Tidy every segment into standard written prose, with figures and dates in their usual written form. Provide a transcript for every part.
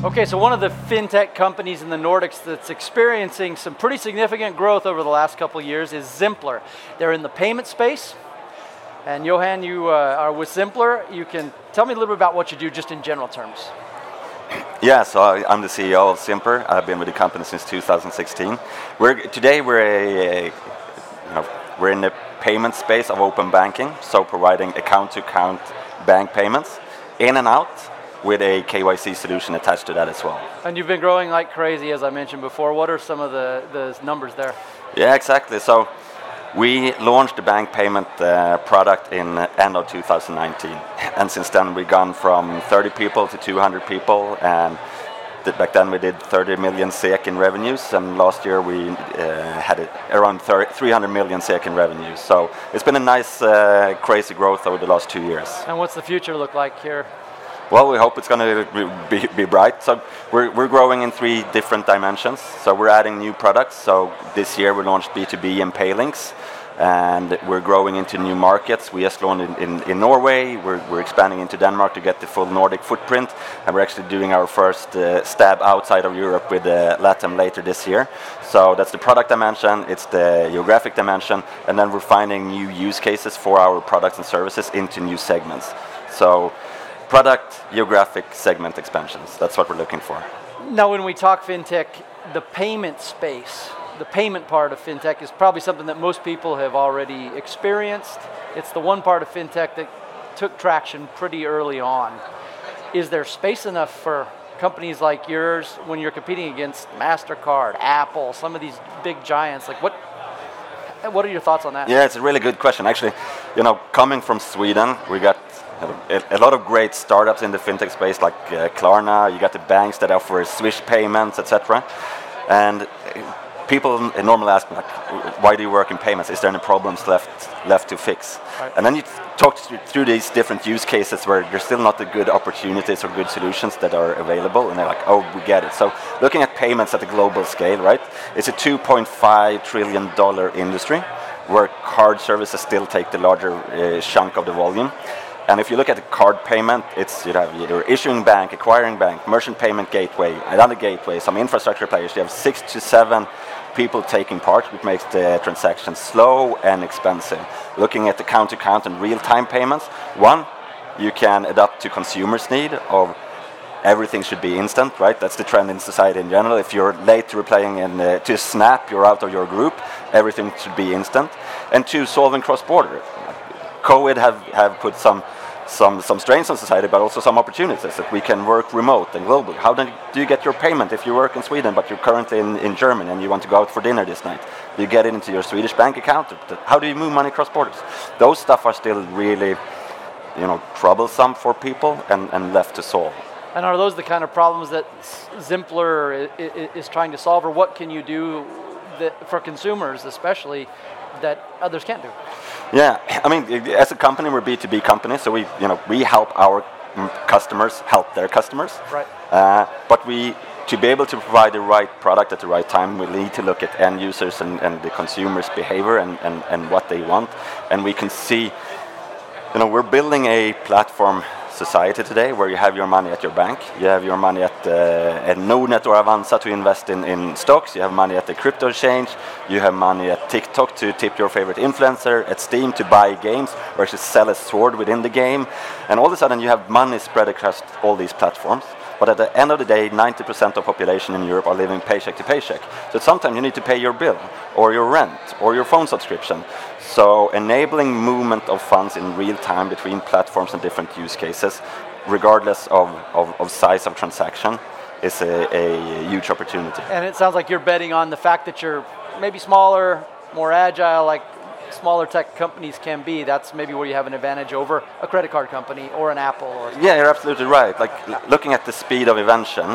Okay, so one of the fintech companies in the Nordics that's experiencing some pretty significant growth over the last couple of years is Zimpler. They're in the payment space. And Johan, you are with Zimpler. You can tell me a little bit about what you do just in general terms. Yeah, so I'm the CEO of Zimpler. I've been with the company since 2016. Today we're in the payment space of open banking, so providing account-to-account bank payments in and out, with a KYC solution attached to that as well. And you've been growing like crazy, as I mentioned before. What are some of the numbers there? Yeah, exactly. So we launched the bank payment product in end of 2019. And since then we've gone from 30 people to 200 people. And back then we did 30 million SEK in revenues. And last year we had around 300 million SEK in revenues. So it's been a nice, crazy growth over the last 2 years. And what's the future look like here? Well, we hope it's going to be bright. So we're growing in 3 different dimensions. So we're adding new products. So this year we launched B2B and Paylinks, and we're growing into new markets. We just launched in Norway. We're expanding into Denmark to get the full Nordic footprint, and we're actually doing our first stab outside of Europe with LATAM later this year. So that's the product dimension, it's the geographic dimension, and then we're finding new use cases for our products and services into new segments. So product, geographic, segment expansions. That's what we're looking for. Now, when we talk fintech, the payment space, the payment part of fintech is probably something that most people have already experienced. It's the one part of fintech that took traction pretty early on. Is there space enough for companies like yours when you're competing against MasterCard, Apple, some of these big giants? Like what are your thoughts on that? Yeah, it's a really good question. Actually, coming from Sweden, we got a lot of great startups in the fintech space, like Klarna. You got the banks that offer Swish payments, etc. And people normally ask me, like, why do you work in payments? Is there any problems left to fix? Right. And then you talk through these different use cases where there's still not the good opportunities or good solutions that are available, and they're like, oh, we get it. So looking at payments at a global scale, right? It's a $2.5 trillion industry where card services still take the larger chunk of the volume. And if you look at the card payment, it's your issuing bank, acquiring bank, merchant payment gateway, another gateway, some infrastructure players. You have 6 to 7 people taking part, which makes the transaction slow and expensive. Looking at the count-to-count and real-time payments, one, you can adapt to consumers' need of everything should be instant, right? That's the trend in society in general. If you're late to replying to Snap, you're out of your group. Everything should be instant. And 2, solving cross-border. COVID have put some strains on society, but also some opportunities that we can work remote and globally. How do you get your payment if you work in Sweden, but you're currently in Germany and you want to go out for dinner this night? Do you get it into your Swedish bank account? How do you move money across borders? Those stuff are still really, troublesome for people and left to solve. And are those the kind of problems that Zimpler is trying to solve, or what can you do for consumers especially that others can't do? Yeah, I mean, as a company, we're a B2B company, so we help our customers help their customers. Right. But to be able to provide the right product at the right time, we need to look at end users and the consumers' behavior and what they want. And we can see, we're building a platform society today where you have your money at your bank, you have your money at Nordnet or Avanza to invest in stocks, you have money at the crypto exchange, you have money at TikTok to tip your favorite influencer, at Steam to buy games or to sell a sword within the game, and all of a sudden you have money spread across all these platforms. But at the end of the day, 90% of the population in Europe are living paycheck to paycheck. So sometimes you need to pay your bill, or your rent, or your phone subscription. So enabling movement of funds in real time between platforms and different use cases, regardless of size of transaction, is a huge opportunity. And it sounds like you're betting on the fact that you're maybe smaller, more agile, like smaller tech companies can be. That's maybe where you have an advantage over a credit card company or an Apple. Yeah, you're absolutely right. Like looking at the speed of invention,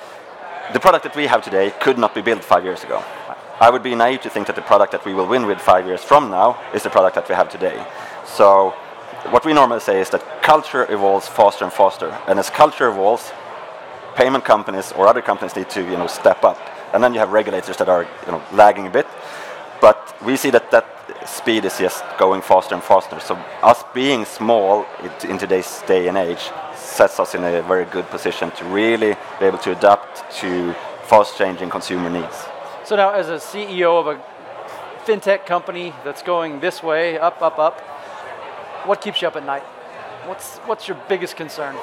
the product that we have today could not be built 5 years ago. I would be naive to think that the product that we will win with 5 years from now is the product that we have today. So what we normally say is that culture evolves faster and faster. And as culture evolves, payment companies or other companies need to step up. And then you have regulators that are lagging a bit. But we see that speed is just going faster and faster. So us being small in today's day and age sets us in a very good position to really be able to adapt to fast-changing consumer needs. So now, as a CEO of a fintech company that's going this way, up, up, up, what keeps you up at night? What's your biggest concern?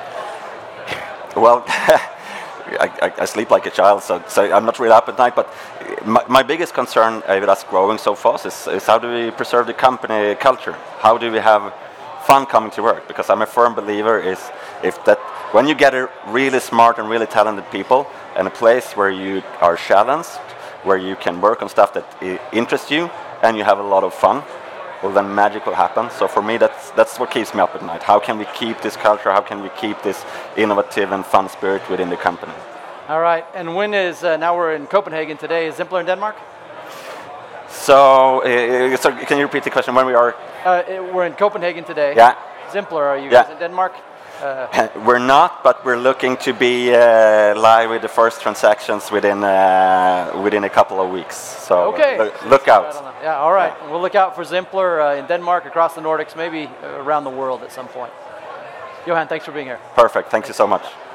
Well, I sleep like a child, so I'm not really up at night. But my biggest concern with us growing so fast is how do we preserve the company culture? How do we have fun coming to work? Because I'm a firm believer if that when you get a really smart and really talented people and a place where you are challenged, where you can work on stuff that interests you and you have a lot of fun, well, then magic will happen. So for me, that's what keeps me up at night. How can we keep this culture? How can we keep this innovative and fun spirit within the company? All right. And when is, now we're in Copenhagen today, is Zimpler in Denmark? So can you repeat the question? When we are? We're in Copenhagen today. Yeah. Zimpler, are you guys in Denmark? We're not, but we're looking to be live with the first transactions within a couple of weeks. So look out. Yeah, all right. Yeah. We'll look out for Zimpler in Denmark, across the Nordics, maybe around the world at some point. Johan, thanks for being here. Perfect. Thank you so much.